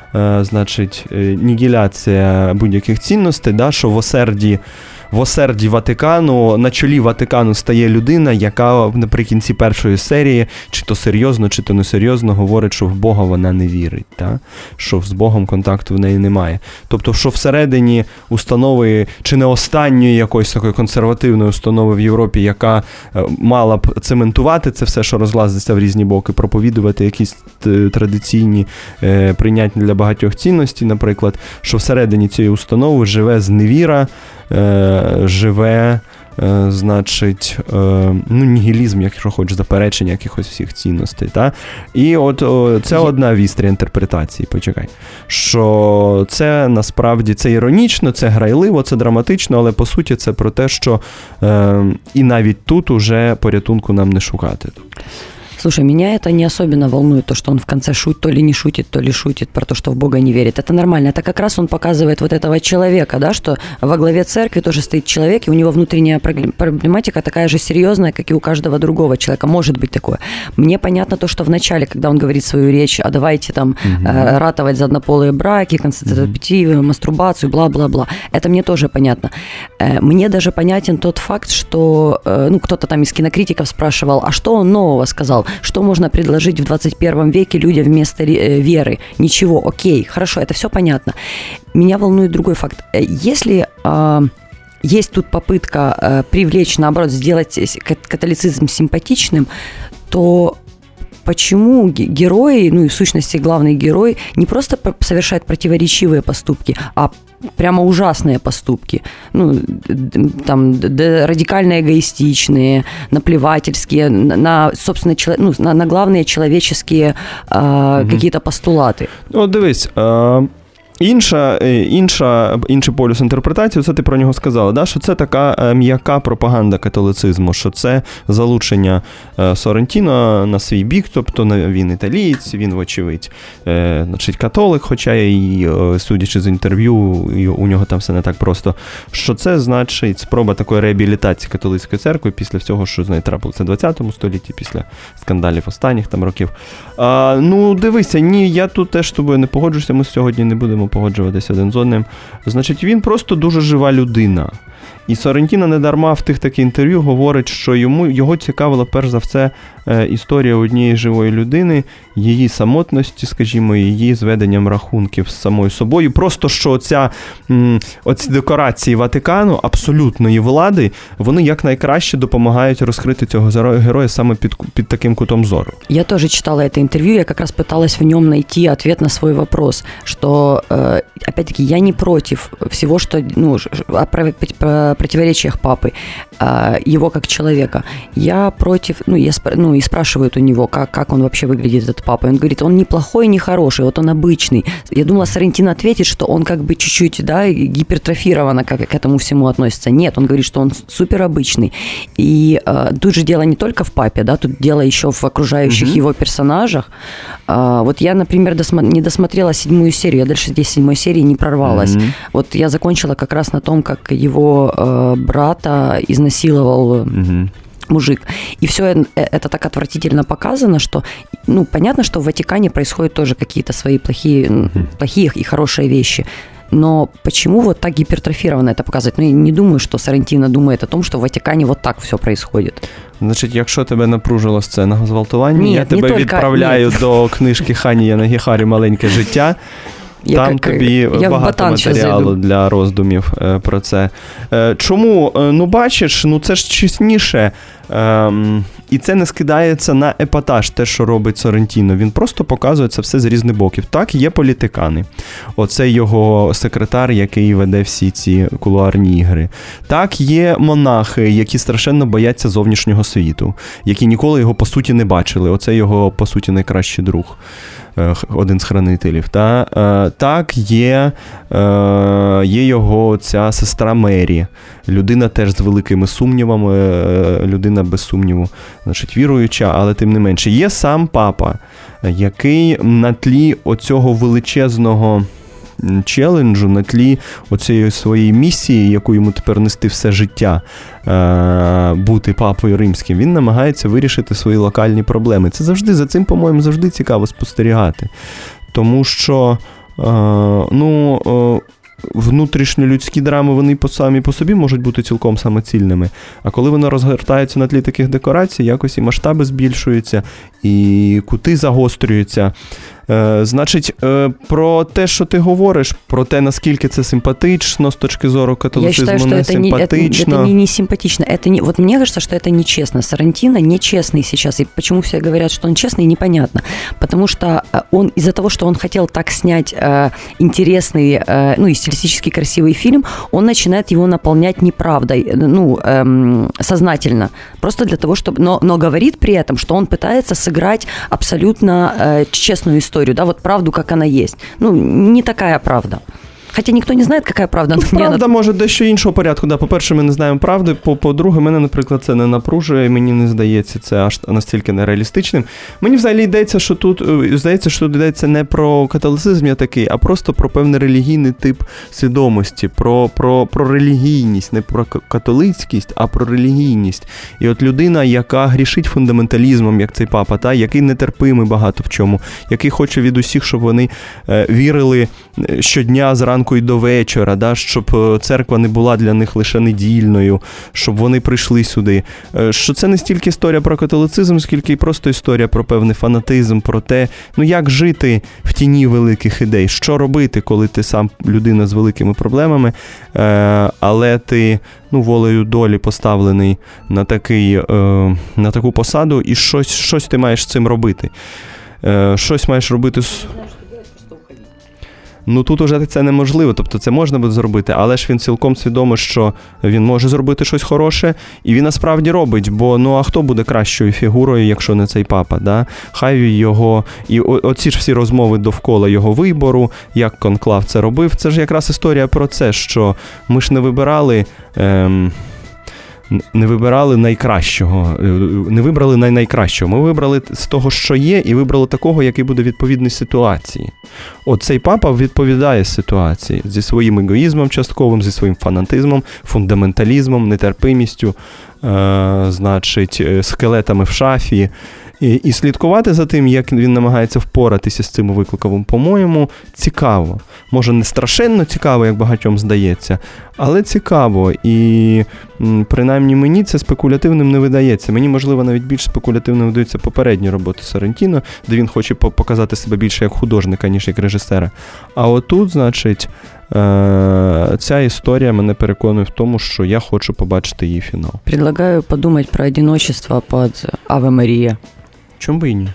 нігіляція будь-яких цінностей, да, що в осерді Ватикану, на чолі Ватикану стає людина, яка наприкінці першої серії, чи то серйозно, чи то несерйозно, говорить, що в Бога вона не вірить, та? Що з Богом контакту в неї немає. Тобто, що всередині установи, чи не останньої якоїсь такої консервативної установи в Європі, яка мала б цементувати це все, що розлазиться в різні боки, проповідувати якісь традиційні, прийнятні для багатьох цінності, наприклад, що всередині цієї установи живе зневіра, живе значить, нігілізм, якщо хочеш, заперечення якихось всіх цінностей. Та? І от це одна вістря інтерпретації, почекай. Що це насправді, це іронічно, це грайливо, це драматично, але по суті це про те, що і навіть тут уже порятунку нам не шукати. Слушай, меня это не особенно волнует, то, что он в конце то ли не шутит, то ли шутит про то, что в Бога не верит. Это нормально. Это как раз он показывает вот этого человека, да, что во главе церкви тоже стоит человек, и у него внутренняя проблематика такая же серьезная, как и у каждого другого человека. Может быть такое. Мне понятно то, что в начале, когда он говорит свою речь, а давайте там ратовать за однополые браки, концептивы, мастурбацию, бла-бла-бла. Это мне тоже понятно. Мне даже понятен тот факт, что, кто-то там из кинокритиков спрашивал, а что он нового сказал? Что можно предложить в 21 веке людям вместо веры? Ничего, окей, хорошо, это все понятно. Меня волнует другой факт. Если есть тут попытка привлечь, наоборот, сделать католицизм симпатичным, то почему герои, и в сущности главный герой, не просто совершает противоречивые поступки, а прямо ужасные поступки, там радикально эгоистичные, наплевательские, собственно, на главные человеческие какие-то постулаты. Дивись, інший полюс інтерпретації, це ти про нього сказала, да? Що це така м'яка пропаганда католицизму, що це залучення Соррентіно на свій бік, тобто він італієць, він, вочевидь, значить, католик, хоча і, судячи з інтерв'ю, у нього там все не так просто, що це значить спроба такої реабілітації католицької церкви після всього, що з нею трапилося в 20 столітті, після скандалів останніх там років. Дивися, ні, я тут теж з тобою не погоджуюся, ми сьогодні не будемо погоджуватися один з одним. Значить, він просто дуже жива людина. І Соррентіно недарма в тих таких інтерв'ю говорить, що його цікавила перш за все історія однієї живої людини, її самотності, скажімо, її зведенням рахунків з самою собою. Просто що оці декорації Ватикану, абсолютної влади, вони якнайкраще допомагають розкрити цього героя саме під таким кутом зору. Я тоже читала это интервью, я как раз пыталась в нем найти ответ на свой вопрос, что, опять-таки, я не против всего, что, о противоречиях папы, его как человека. Я против, и спрашивают у него, как он вообще выглядит, этот папа. И он говорит, он не плохой, не хороший, вот он обычный. Я думала, Соррентино ответит, что он как бы чуть-чуть, гипертрофированно к этому всему относится. Нет, он говорит, что он супер обычный. И тут же дело не только в папе, да, тут дело еще в окружающих его персонажах. Вот я, например, не досмотрела 7 серию, я дальше здесь 7 серии не прорвалась. Вот я закончила как раз на том, как его брата изнасиловал мужик. И все это так отвратительно показано, что, понятно, что в Ватикане происходят тоже какие-то свои плохие и хорошие вещи. Но почему вот так гипертрофированно это показывать? Я не думаю, что Соррентино думает о том, что в Ватикане вот так все происходит. Значить, якщо тебе напружила сцена гвалтування, я тебе відправляю до книжки Хані Янагіхарі «Маленьке життя». Там тобі багато матеріалу для роздумів про це. Чому? Бачиш, це ж чесніше. І це не скидається на епатаж, те, що робить Соррентіно. Він просто показує це все з різних боків. Так, є політикани. Оце його секретар, який веде всі ці кулуарні ігри. Так, є монахи, які страшенно бояться зовнішнього світу, які ніколи його, по суті, не бачили. Оце його, по суті, найкращий друг. Один з хранителів. Так, є його ця сестра Мері. Людина теж з великими сумнівами, людина без сумніву, значить, віруюча, але тим не менше. Є сам папа, який на тлі оцього величезного челенджу, на тлі оцієї своєї місії, яку йому тепер нести все життя, бути папою римським, він намагається вирішити свої локальні проблеми. Це завжди, за цим, по-моєму, завжди цікаво спостерігати. Тому що, внутрішньолюдські драми, вони самі по собі можуть бути цілком самоцільними. А коли вони розгортаються на тлі таких декорацій, якось і масштаби збільшуються, і кути загострюються. Значить, про те, що ти говориш, про те, наскільки це симпатично з точки зору католицизму, не симпатично. Это не симпатично. Вот мне кажется, что это нечестно. Сарантино нечестный сейчас. И почему все говорят, что он честный, непонятно. Потому что он из-за того, что он хотел так снять интересный, и стилистически красивый фильм, он начинает его наполнять неправдой, сознательно. Просто для того, чтобы... Но говорит при этом, что он пытается сыграть абсолютно честную историю, да, вот правду, как она есть. Не такая правда. Хоча ніхто не знає, яка правда. Правда може дещо іншого порядку. Да, по-перше, ми не знаємо правди. По-друге, мене, наприклад, це не напружує, мені не здається це аж настільки нереалістичним. Мені взагалі йдеться, що тут йдеться не про католицизм я такий, а просто про певний релігійний тип свідомості, про релігійність, не про католицькість, а про релігійність. І от людина, яка грішить фундаменталізмом, як цей папа, який нетерпимий багато в чому, який хоче від усіх, щоб вони вірили щодня зранку і до вечора, да, щоб церква не була для них лише недільною, щоб вони прийшли сюди. Що це не стільки історія про католицизм, скільки і просто історія про певний фанатизм, про те, як жити в тіні великих ідей, що робити, коли ти сам людина з великими проблемами, але ти волею долі поставлений на таку посаду, і щось ти маєш з цим робити. Щось маєш робити з... Тут уже це неможливо, тобто це можна буде зробити, але ж він цілком свідомий, що він може зробити щось хороше, і він насправді робить, бо а хто буде кращою фігурою, якщо не цей папа, да? Хай його, і оці ж всі розмови довкола його вибору, як конклав це робив, це ж якраз історія про це, що ми ж не вибирали найкращого, не вибрали найкращого. Ми вибрали з того, що є, і вибрали такого, який буде відповідний ситуації. Цей папа відповідає ситуації зі своїм егоїзмом частковим, зі своїм фанатизмом, фундаменталізмом, нетерпимістю, скелетами в шафі. І слідкувати за тим, як він намагається впоратися з цим викликом, по-моєму, цікаво. Може, не страшенно цікаво, як багатьом здається, але цікаво. І принаймні мені це спекулятивним не видається. Мені, можливо, навіть більш спекулятивним видаються попередні роботи Сарантіно, де він хоче показати себе більше як художника, ніж як режисера. А отут, значить, ця історія мене переконує в тому, що я хочу побачити її фінал. Предлагаю подумати про одиночество під Аве Марія. Чому би і ні?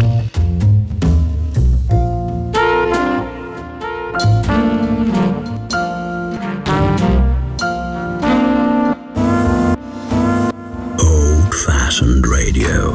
Old-fashioned radio.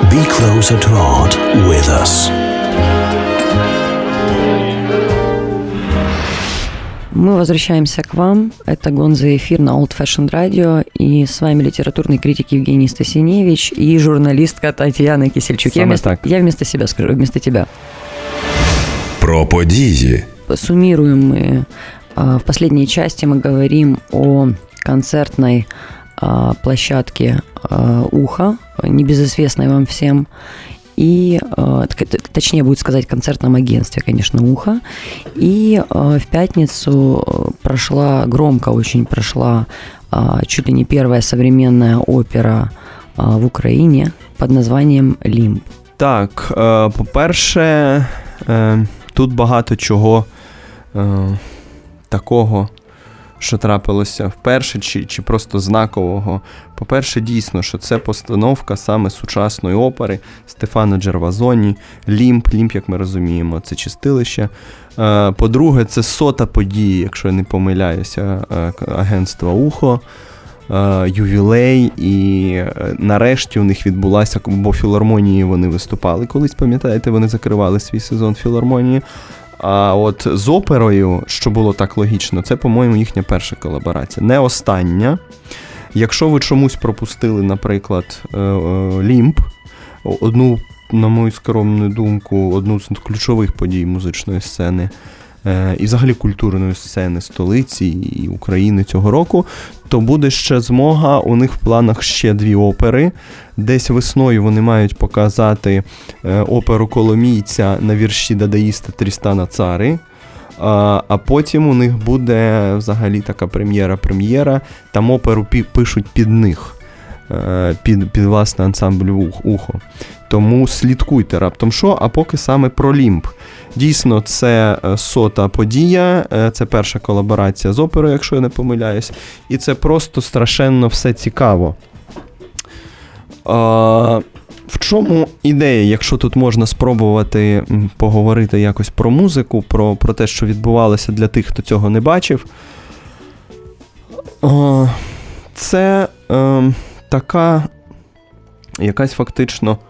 Be closer to art with us. Мы возвращаемся к вам. Это Гонза эфир на Old Fashioned Radio. И с вами литературный критик Евгений Стасиневич и журналистка Татьяна Кисельчук. Я вместо себя скажу, вместо тебя. Про події. Суммируем мы. В последней части мы говорим о концертной площадке «Ухо», небезызвестной вам всем. И, точнее будет сказать, концертном агентстве, конечно, «Ухо». И в пятницу громко очень прошла чуть ли не первая современная опера в Україні під названням «Лімб». Так, по-перше, тут багато чого такого, що трапилося вперше, чи просто знакового. По-перше, дійсно, що це постановка саме сучасної опери Стефано Джервазоні. Лімб, як ми розуміємо, це чистилище. По-друге, це 100-та подія, якщо я не помиляюся, агентства «Ухо», ювілей, і нарешті у них відбулася, бо філармонії вони виступали колись, пам'ятаєте, вони закривали свій сезон філармонії. А от з оперою, що було так логічно, це, по-моєму, їхня перша колаборація. Не остання. Якщо ви чомусь пропустили, наприклад, «Лімб», одну, на мою скромну думку, одну з ключових подій музичної сцени і взагалі культурної сцени столиці і України цього року, то буде ще змога, у них в планах ще 2 опери. Десь весною вони мають показати оперу «Коломійця» на вірші дадаїста Трістана Цари, а потім у них буде взагалі така прем'єра, там оперу пишуть під них, під власне ансамбль «Ухо». Тому слідкуйте раптом що, а поки саме про «Лімб». Дійсно, це 100-та подія, це перша колаборація з оперою, якщо я не помиляюсь, і це просто страшенно все цікаво. В чому ідея, якщо тут можна спробувати поговорити якось про музику, про те, що відбувалося для тих, хто цього не бачив? Це така якась фактично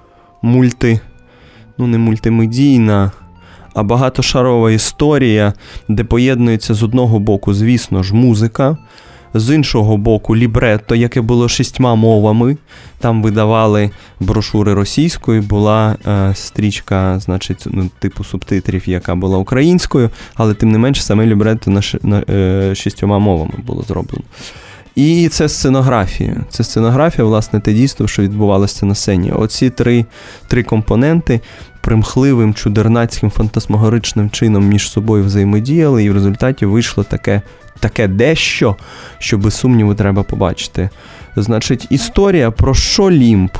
не мультимедійна, а багатошарова історія, де поєднується з одного боку, звісно ж, музика, з іншого боку лібретто, яке було 6 мовами. Там видавали брошури російською, була стрічка, значить, типу субтитрів, яка була українською, але тим не менше саме лібретто на 6 мовами було зроблено. І це сценографія. Це сценографія, власне, те дійство, що відбувалося на сцені. Оці три компоненти примхливим, чудернацьким, фантасмагоричним чином між собою взаємодіяли, і в результаті вийшло таке дещо, що без сумніву треба побачити. Значить, історія про що «Лімб»?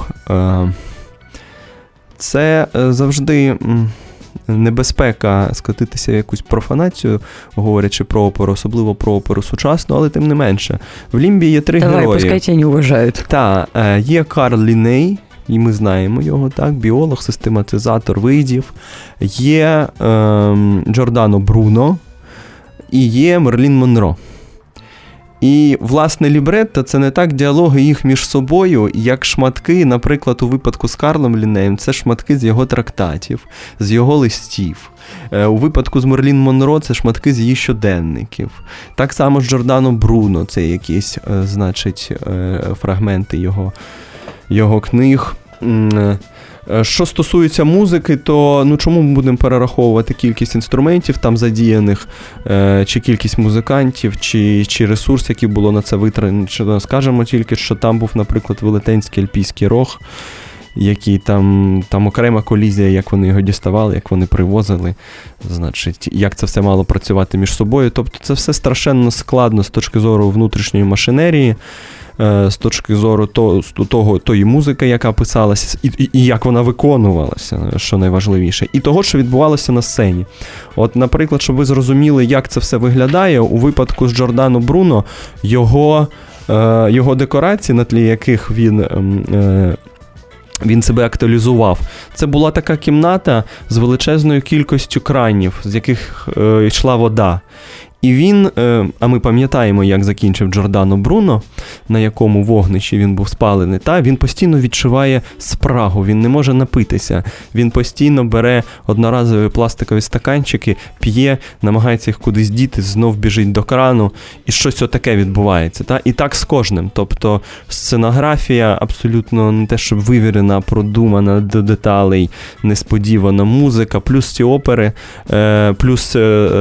Це завжди небезпека скотитися в якусь профанацію, говорячи про оперу, особливо про оперу сучасну, але тим не менше. В «Лімбі» є 3 герої. Давай, пускай тебе не вважають. Так, є Карл Лінней, і ми знаємо його, так, біолог, систематизатор видів, є Джордано Бруно і є Мерлін Монро. І, власне, лібретто – це не так діалоги їх між собою, як шматки, наприклад, у випадку з Карлом Ліннеєм, це шматки з його трактатів, з його листів. У випадку з Мерлін Монро це шматки з її щоденників. Так само з Джордано Бруно, це якісь, значить, фрагменти його книг. Що стосується музики, то чому ми будемо перераховувати кількість інструментів там задіяних, чи кількість музикантів, чи ресурс, який було на це витрачено. Скажемо тільки, що там був, наприклад, велетенський альпійський рог, який там окрема колізія, як вони його діставали, як вони привозили, значить, як це все мало працювати між собою. Тобто це все страшенно складно з точки зору внутрішньої машинерії, з точки зору тої музики, яка писалася, і як вона виконувалася, що найважливіше, і того, що відбувалося на сцені. От, наприклад, щоб ви зрозуміли, як це все виглядає, у випадку з Джордано Бруно його декорації, на тлі яких він себе актуалізував. Це була така кімната з величезною кількістю кранів, з яких йшла вода. І він, а ми пам'ятаємо, як закінчив Джордано Бруно, на якому вогнищі він був спалений, він постійно відчуває спрагу, він не може напитися, він постійно бере одноразові пластикові стаканчики, п'є, намагається їх кудись діти, знов біжить до крану, і щось отаке відбувається. І так з кожним. Тобто сценографія абсолютно не те, щоб вивірена, продумана до деталей, несподівана музика, плюс ці опери, плюс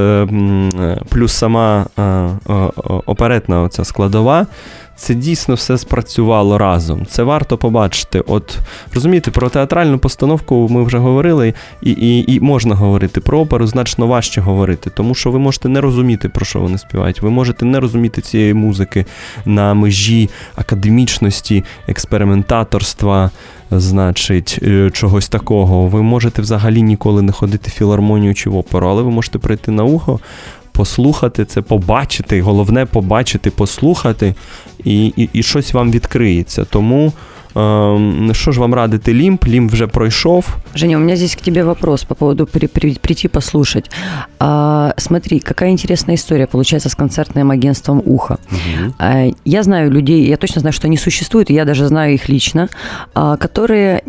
сама оперетна оця складова, це дійсно все спрацювало разом. Це варто побачити. От, розумієте, про театральну постановку ми вже говорили, і можна говорити. Про оперу значно важче говорити, тому що ви можете не розуміти, про що вони співають. Ви можете не розуміти цієї музики на межі академічності, експериментаторства, значить, чогось такого. Ви можете взагалі ніколи не ходити в філармонію чи в оперу, але ви можете прийти на ухо, послухати це, побачити, головне побачити, послухати, і щось вам відкриється. Тому, що ж вам радити Лімб? Лімб вже пройшов. Женя, у меня здесь к тебе вопрос по поводу прийти послушать. Смотри, какая интересная история получается с концертным агентством «Ухо». Угу. Я знаю людей, я точно знаю, что они существуют, и я даже знаю их лично, которые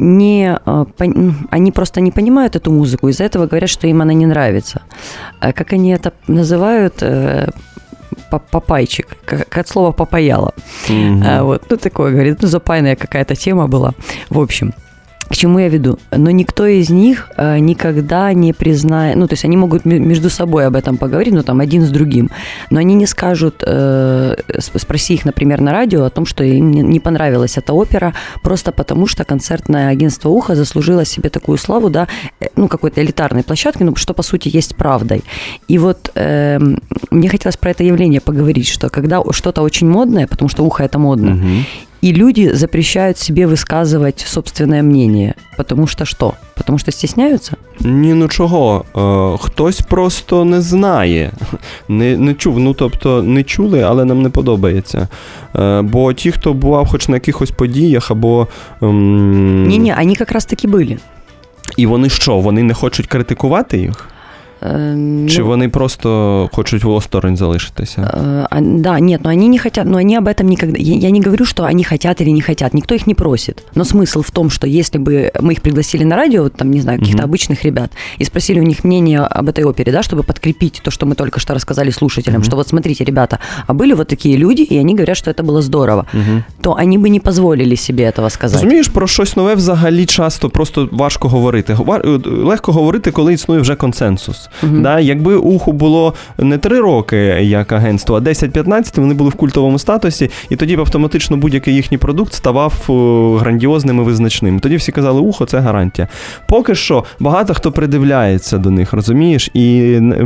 они просто не понимают эту музыку, из-за этого говорят, что им она не нравится. Как они это называют? Папайчик, как от слова «попаяло». Mm-hmm. Вот, такое, говорит, запайная какая-то тема была. В общем, к чему я веду? Но никто из них никогда не признает, то есть они могут между собой об этом поговорить, один с другим, но они не скажут, спроси их, например, на радио о том, что им не понравилась эта опера, просто потому что концертное агентство «Ухо» заслужило себе такую славу, какой-то элитарной площадки, что по сути есть правдой. И вот мне хотелось про это явление поговорить, что когда что-то очень модное, потому что «Ухо» — это модно, угу. И люди запрещают себе высказывать собственное мнение. Потому что что? Потому что стесняются? Ні, чого. Хтось просто не знає. Не чув. Тобто не чули, але нам не подобається. Бо ті, хто бував хоч на якихось подіях, або... Ні, вони якраз таки були. І вони що? Вони не хочуть критикувати їх? Чи вони просто хочуть осторонь залишитися? Да, нет, но они не хотят, но они об этом никогда... Я не говорю, что они хотят или не хотят, никто их не просит. Но смысл в том, что если бы мы их пригласили на радио, не знаю, каких-то обычных ребят, и спросили у них мнение об этой опере, чтобы подкрепить то, что мы только что рассказали слушателям, что вот смотрите, ребята, а были вот такие люди, и они говорят, что это было здорово, то они бы не позволили себе этого сказать. Розумієш, про щось нове взагалі часто просто важко говорити. Легко говорити, коли існує вже консенсус. Да, якби «Уху» було не 3 роки як агентство, а 10-15, вони були в культовому статусі, і тоді б автоматично будь-який їхній продукт ставав грандіозним і визначним. Тоді всі казали, «Ухо» – це гарантія. Поки що багато хто придивляється до них, розумієш? І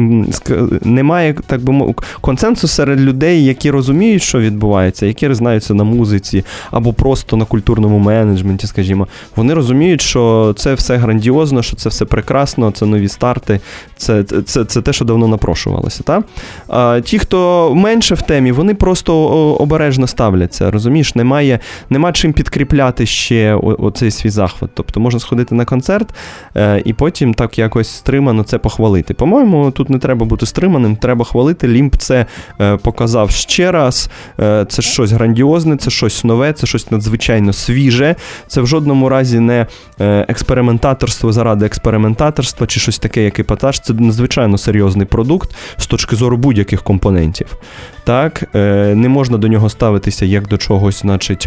немає, так би мовити, консенсусу серед людей, які розуміють, що відбувається, які знаються на музиці, або просто на культурному менеджменті, скажімо. Вони розуміють, що це все грандіозно, що це все прекрасно, це нові старти, це те, що давно напрошувалося. Та? А ті, хто менше в темі, вони просто обережно ставляться, розумієш? Нема чим підкріпляти ще оцей свій захват. Тобто можна сходити на концерт і потім так якось стримано це похвалити. По-моєму, тут не треба бути стриманим, треба хвалити. Лімб це показав ще раз. Це щось грандіозне, це щось нове, це щось надзвичайно свіже. Це в жодному разі не експериментаторство заради експериментаторства чи щось таке, як епатаж. Це надзвичайно серйозний продукт з точки зору будь-яких компонентів. Так, не можна до нього ставитися як до чогось, значить,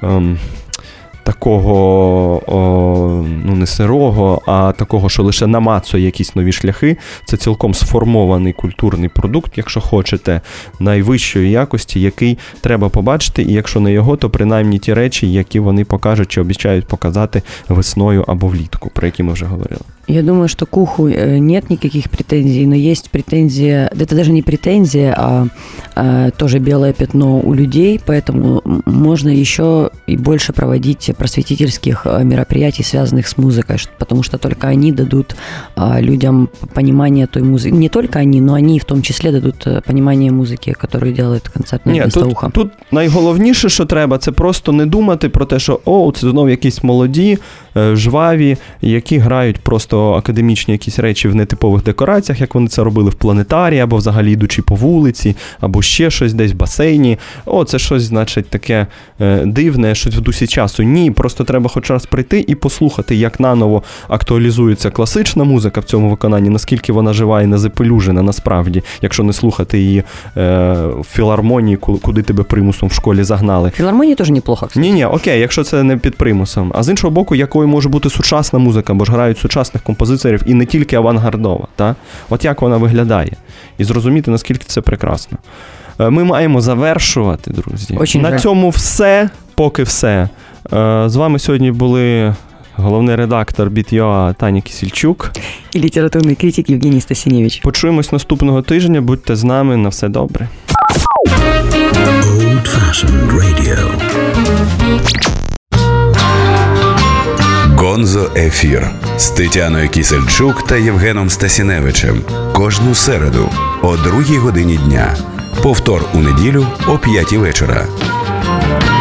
такого, не сирого, а такого, що лише намацує якісь нові шляхи. Це цілком сформований культурний продукт, якщо хочете, найвищої якості, який треба побачити, і якщо не його, то принаймні ті речі, які вони покажуть чи обіцяють показати весною або влітку, про які ми вже говорили. Я думаю, что к «Уху» нет никаких претензий, но есть претензия, это даже не претензия, а тоже белое пятно у людей, поэтому можно еще и больше проводить просветительских мероприятий, связанных с музыкой, потому что только они дадут людям понимание той музыки. Не только они, но они в том числе дадут понимание музыки, которую делает концертное агентство «Ухо». Тут найголовніше, що треба, це просто не думати про те, що це знову якісь молоді, жваві, які грають просто часто академічні якісь речі в нетипових декораціях, як вони це робили в планетарії, або взагалі йдучи по вулиці, або ще щось десь в басейні. О, це щось, значить, таке дивне, щось в дусі часу. Ні, просто треба хоч раз прийти і послухати, як наново актуалізується класична музика в цьому виконанні, наскільки вона жива і не запелюжена насправді, якщо не слухати її в філармонії, куди тебе примусом в школі загнали. Філармонії теж неплохо. Ні, окей, якщо це не під примусом. А з іншого боку, якою може бути сучасна музика, бо ж грають сучасних композиторів і не тільки авангардова. Та? От як вона виглядає. І зрозуміти, наскільки це прекрасно. Ми маємо завершувати, друзі. Очень на цьому все, поки все. З вами сьогодні були головний редактор Біт.ua Таня Кісельчук і літературний критик Євгеній Стасінєвич. Почуємось наступного тижня. Будьте з нами. На все добре. Old-fashioned radio. Гонзо Ефір з Тетяною Кісельчук та Євгеном Стасіневичем. Кожну середу о 2 годині дня. Повтор у неділю о 5 вечора.